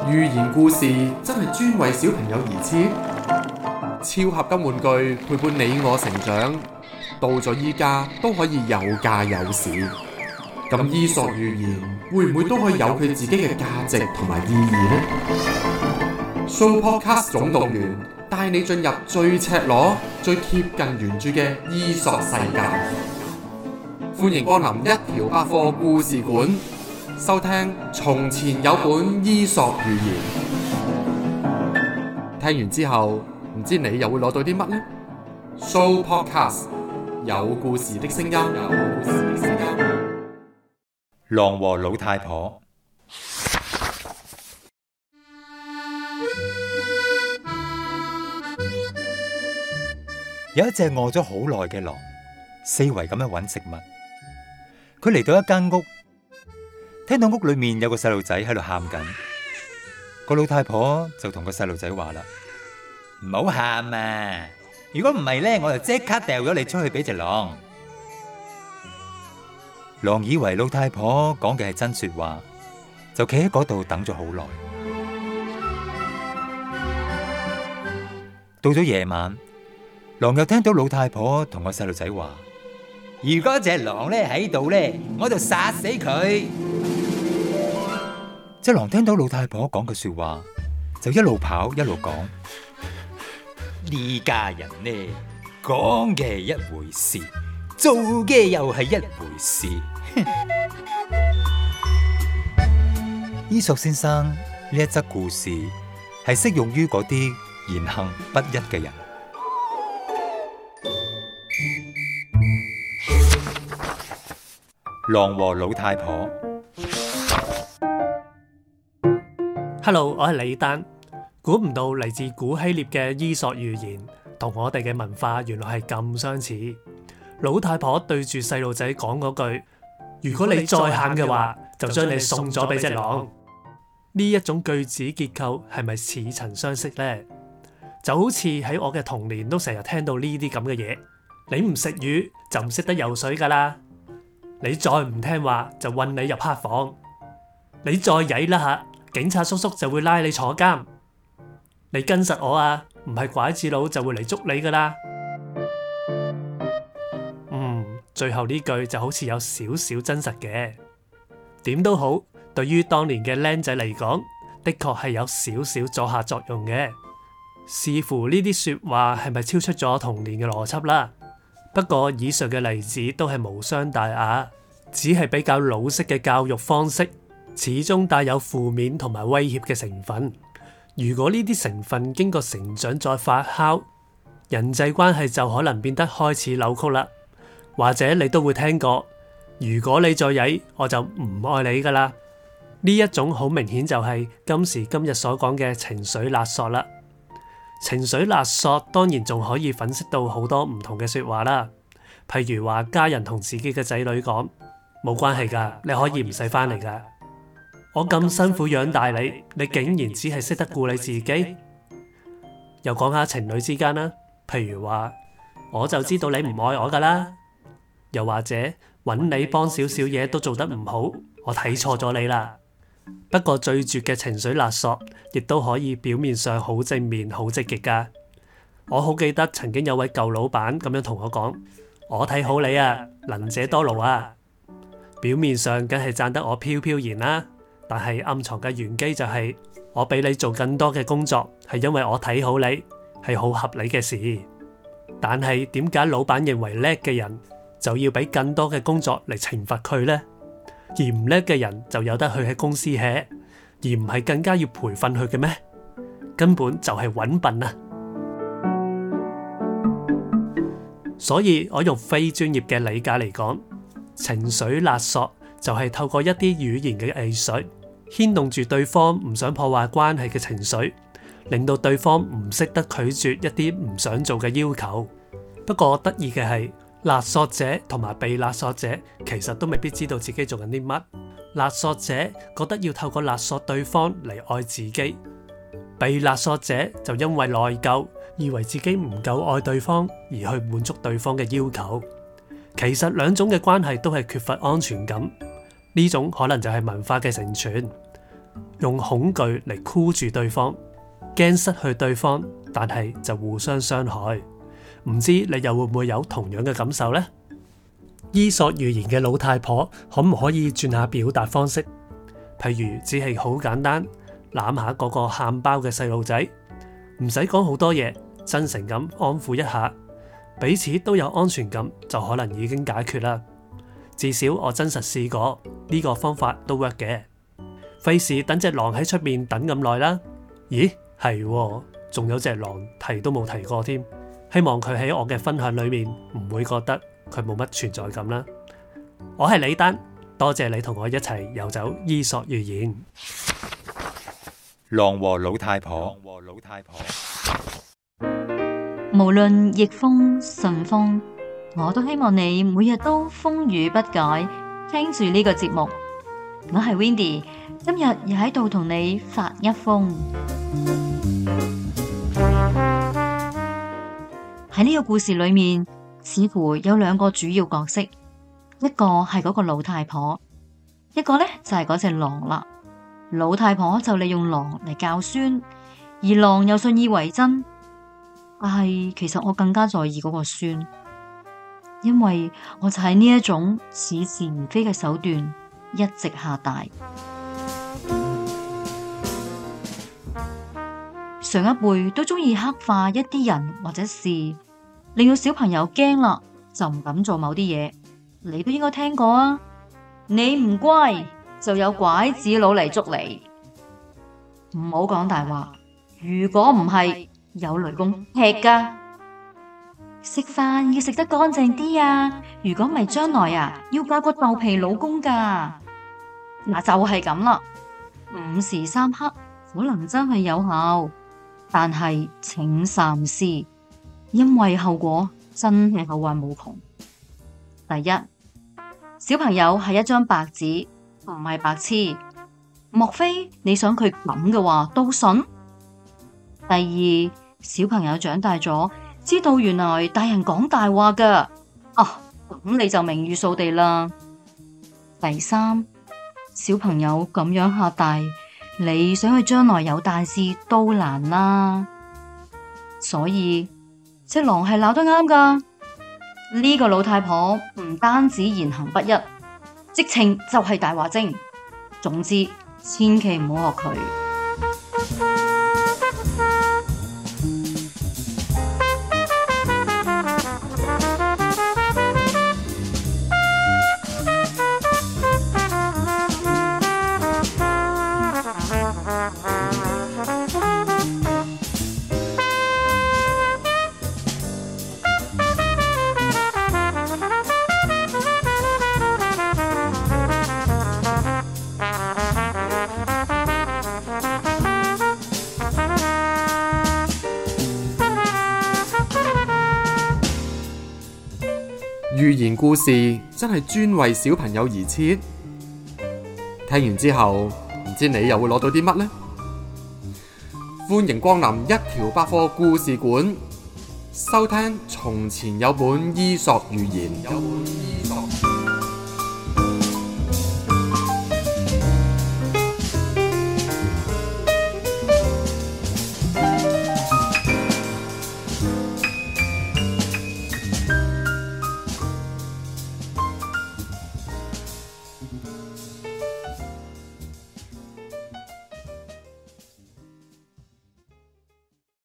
寓言故事真係專為小朋友而設，超合金玩具陪伴你我成長，到咗依家都可以有價有市。咁伊索寓言會唔會都可以有佢自己嘅價值同埋意義呢？Sooopodcast 總動員帶你進入最赤裸、最貼近原著嘅伊索世界。歡迎光臨一條百貨故事館，收聽從前有本伊索寓言。聽完之後，唔知你又會攞到啲乜呢？Sooopodcast 有故事的聲音。 狼和老太婆。有一隻餓咗好耐嘅狼，四圍咁樣揾食物。佢嚟到一間屋，聽到屋裏面有個細路仔喺度喊緊。個老太婆就同個細路仔話啦：唔好喊啊！如果唔係呢，我就即刻掉咗你出去俾隻狼。狼以為老太婆講嘅係真說話，就企喺嗰度等咗好耐。到咗夜晚，狼又聽到老太婆同個細路仔話：如果隻狼咧喺度咧，我就殺死佢。隻狼聽到老太婆講嘅說話，就一路跑一路講：呢家人呢，講嘅係一回事，做嘅又係一回事。伊索先生呢一則故事係適用於嗰啲言行不一嘅人。狼和老太婆。 Hello， 我係李丹。估唔到嚟自古希臘嘅伊索寓言，同我哋嘅文化原來係咁相似。老太婆對住細路仔講嗰句：如果你再喊嘅話，就將你送咗俾隻狼。呢一種句子結構係咪似曾相識呢？就好似喺我嘅童年都成日聽到呢啲咁嘅嘢。你唔食魚就唔識得游水噶啦。你再唔聽話就韞你入黑房。你再曳啦下，警察叔叔就會拉你坐監。你跟實我啊，唔係拐子佬就會嚟捉你噶啦。最後呢句就好似有少少真實嘅。點都好，對於當年嘅僆仔嚟講，的確係有少少阻嚇作用嘅。視乎呢啲說話係咪超出咗童年嘅邏輯啦。不過以上嘅例子都係無傷大雅，只係比較老式嘅教育方式，始終帶有負面同埋威脅嘅成分。如果呢啲成分經過成長再發酵，人際關係就可能變得開始扭曲啦。或者你都會聽過，如果你再曳，我就唔愛你噶啦。呢一種好明顯就係今時今日所講嘅情緒勒索啦。情緒勒索當然仲可以粉飾到好多唔同嘅說話啦，譬如話家人同自己嘅仔女講：冇關係噶，你可以唔使翻嚟噶。我咁辛苦養大你，你竟然只係識得顧你自己。又講下情侶之間啦，譬如話我就知道你唔愛我噶啦。又或者揾你幫少少嘢都做得唔好，我睇錯咗你啦。不過最絕嘅情緒勒索，亦都可以表面上好正面、好積極噶。我好記得曾經有位舊老闆咁樣同我講：我睇好你啊，能者多勞啊。表面上梗係讚得我飄飄然啦，但係暗藏嘅玄機就係我俾你做更多嘅工作，係因為我睇好你，係好合理嘅事。但係點解老闆認為叻嘅人就要俾更多嘅工作嚟懲罰佢呢？而唔叻嘅人就有得去喺公司 hea， 而唔係更加要培訓佢嘅咩？根本就係揾笨啊！所以我用非專業嘅理解嚟講，情緒勒索就係透過一啲語言嘅藝術，牽動住對方唔想破壞關係嘅情緒，令到對方唔識得拒絕一啲唔想做嘅要求。不過得意嘅係，勒索者同埋被勒索者其實都未必知道自己做緊啲乜。勒索者覺得要透過勒索對方嚟愛自己，被勒索者就因為內疚，以為自己唔夠愛對方而去滿足對方嘅要求。其實兩種嘅關係都係缺乏安全感，呢種可能就係文化嘅成全。 用恐懼嚟箍住對方，驚失去對方，但係就互相傷害。唔知你又會唔會有同樣嘅感受呢？伊索寓言嘅老太婆可唔可以轉下表達方式？譬如只係好簡單，攬下嗰個喊包嘅細路仔，唔使講好多嘢，真誠咁安撫一下，彼此都有安全感，就可能已經解決啦。至少我真實試過，呢個方法都 work 嘅。費事等隻狼喺出面等咁耐啦。咦，係喎，仲有隻狼提都冇提過添。希望佢喺我嘅分享裏面唔會覺得佢冇乜存在感啦。我係李丹，多謝你同我一齊遊走伊索寓言。 狼和老太婆。 無論逆風順風，我都希望你每日都風雨不改，聽住呢個節目。我係 Windy， 今日又喺度同你發一瘋。喺呢個故事裏面，似乎有兩個主要角色，一個係嗰個老太婆，一個呢就係嗰隻狼啦。老太婆就利用狼嚟教孫，而狼又信以為真。但係其實我更加在意嗰個孫，因為我就喺呢一種似是而非嘅手段一直下大。上一輩都中意刻畫一啲人或者事，令到小朋友驚啦，就唔敢做某啲嘢。你都應該聽過啊！你唔乖，就有拐子佬嚟捉你。唔好講大話，如果唔係，有雷公劈㗎。食飯要食得乾淨啲啊！如果唔係，將來啊要嫁個豆皮老公㗎。嗱，就係咁啦。午時三刻可能真係有效，但係請三思，因為後果真係後患無窮。第一，小朋友係一張白紙，唔係白痴。莫非你想佢咁嘅話都信？第二，小朋友長大咗，知道原來大人講大話噶，咁你就名譽掃地啦。第三，小朋友咁樣嚇大，你想佢將來有大事都難啦。所以隻狼係鬧得啱噶，呢個老太婆唔單止言行不一，直情就係大話精。總之，千祈唔好學佢。 寓言故事真係專為小朋友而設，聽完之後唔知你又會攞到啲乜呢？歡迎光臨一條百貨故事館，收聽從前有本伊索寓言。